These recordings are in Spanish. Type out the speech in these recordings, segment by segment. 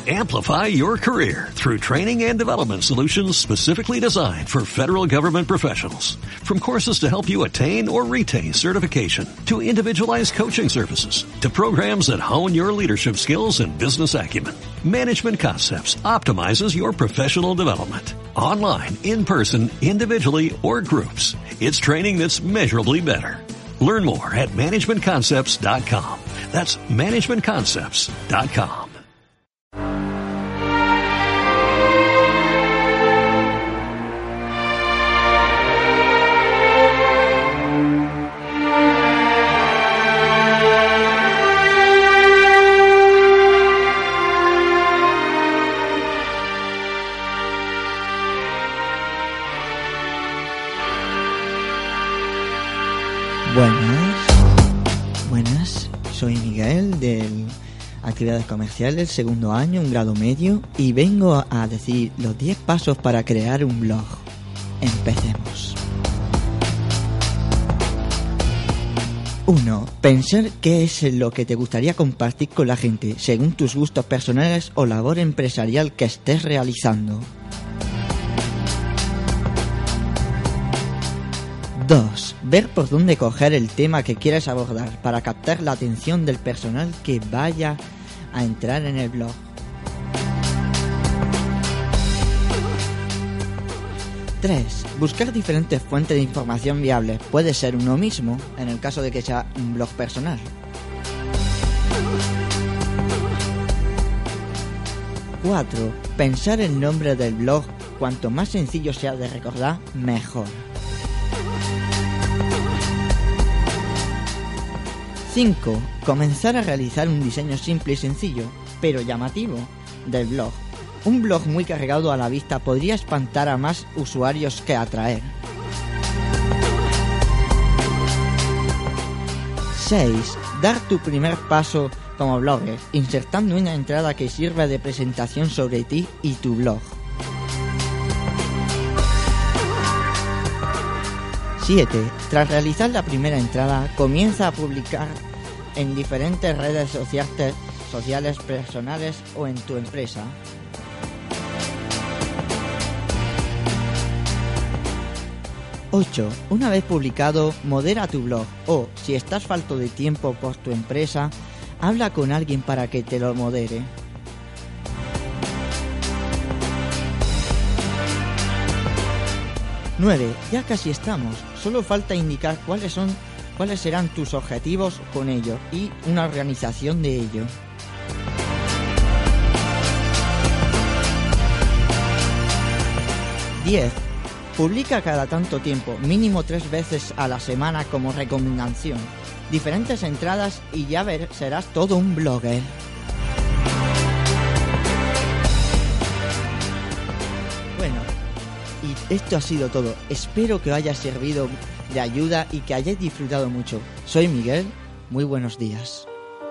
Amplify your career through training and development solutions specifically designed for federal government professionals. From courses to help you attain or retain certification, to individualized coaching services, to programs that hone your leadership skills and business acumen, Management Concepts optimizes your professional development. Online, in person, individually, or groups, it's training that's measurably better. Learn more at managementconcepts.com. That's managementconcepts.com. Buenas, soy Miguel de Actividades Comerciales, segundo año, un grado medio, y vengo a decir los 10 pasos para crear un blog. Empecemos. 1. Pensar qué es lo que te gustaría compartir con la gente, según tus gustos personales o labor empresarial que estés realizando. 2. Ver por dónde coger el tema que quieres abordar para captar la atención del personal que vaya a entrar en el blog. 3. Buscar diferentes fuentes de información viables. Puede ser uno mismo, en el caso de que sea un blog personal. 4. Pensar el nombre del blog. Cuanto más sencillo sea de recordar, mejor. 5. Comenzar a realizar un diseño simple y sencillo, pero llamativo, del blog. Un blog muy cargado a la vista podría espantar a más usuarios que atraer. 6. Dar tu primer paso como blogger, insertando una entrada que sirva de presentación sobre ti y tu blog. 7. Tras realizar la primera entrada, comienza a publicar en diferentes redes sociales personales o en tu empresa. 8. Una vez publicado, modera tu blog o, si estás falto de tiempo por tu empresa, habla con alguien para que te lo modere. 9. Ya casi estamos. Solo falta indicar cuáles serán tus objetivos con ello y una organización de ello. 10. Publica cada tanto tiempo, mínimo 3 veces a la semana como recomendación. Diferentes entradas y ya serás todo un blogger. Bueno, y esto ha sido todo. Espero que os haya servido de ayuda y que hayáis disfrutado mucho. Soy Miguel, muy buenos días.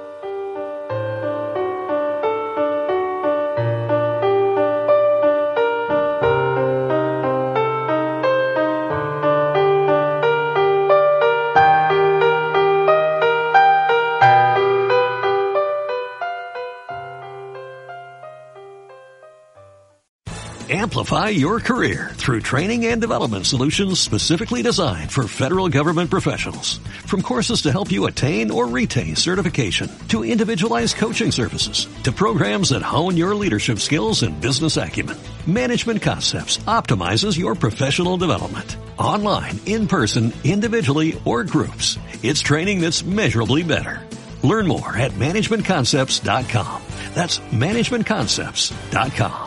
Amplify your career through training and development solutions specifically designed for federal government professionals. From courses to help you attain or retain certification, to individualized coaching services, to programs that hone your leadership skills and business acumen, Management Concepts optimizes your professional development. Online, in person, individually, or groups, it's training that's measurably better. Learn more at managementconcepts.com. That's managementconcepts.com.